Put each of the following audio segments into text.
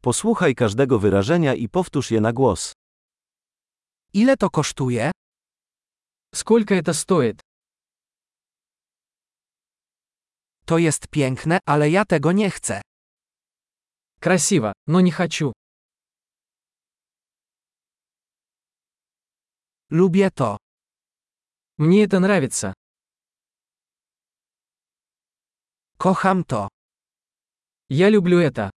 Posłuchaj każdego wyrażenia i powtórz je na głos. Ile to kosztuje? Сколько это стоит? To jest piękne, ale ja tego nie chcę. Красиво, но не хочу. Lubię to. Мне это нравится. Kocham to. Я люблю это.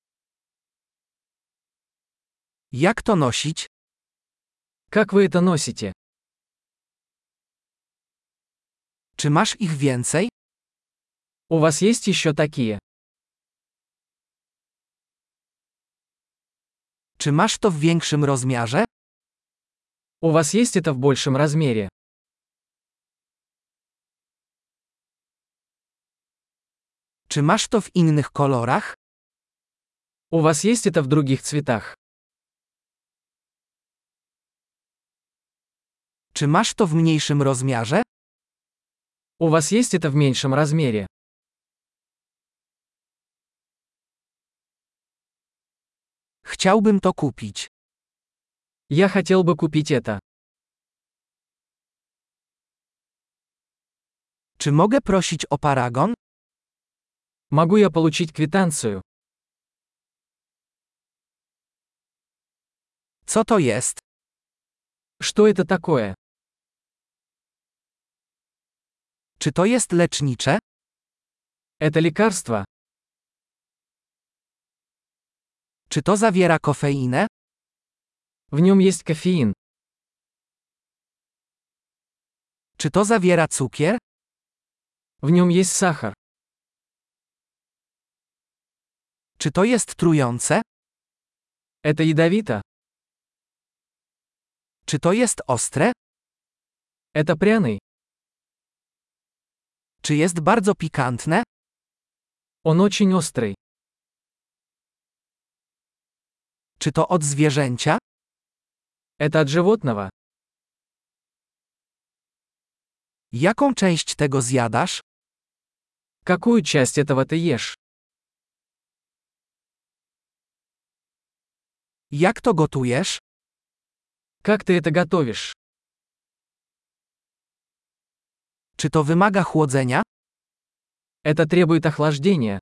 Jak to nosić? Как вы это носите? Czy masz ich więcej? У вас есть еще такие? Czy masz to w większym rozmiarze? У вас есть это в большем размере? Czy masz to w innych kolorach? У вас есть это в других цветах? Czy masz to w mniejszym rozmiarze? У вас есть это в меньшем размере? Chciałbym to kupić. Я хотел бы купить это. Czy mogę prosić o paragon? Могу я получить квитанцию? Co to jest? Что это такое? Czy to jest lecznicze? Это лекарство? Czy to zawiera kofeinę? В нем есть кофеин. Czy to zawiera cukier? В нем есть сахар. Czy to jest trujące? Это ядовито? Czy to jest ostre? Это пряный? Czy jest bardzo pikantne? Он очень острый. Czy to od zwierzęcia? Это от животного? Jaką część tego zjadasz? Какую часть этого ты ешь? Jak to gotujesz? Как ты это готовишь? Czy to wymaga chłodzenia? Это требует охлаждения.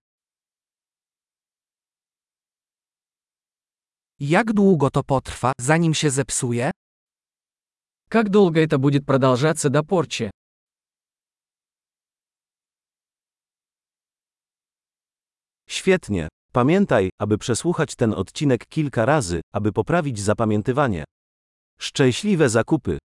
Jak długo to potrwa, zanim się zepsuje? Как долго это будет продолжаться до порчи? Świetnie. Pamiętaj, aby przesłuchać ten odcinek kilka razy, aby poprawić zapamiętywanie. Szczęśliwe zakupy!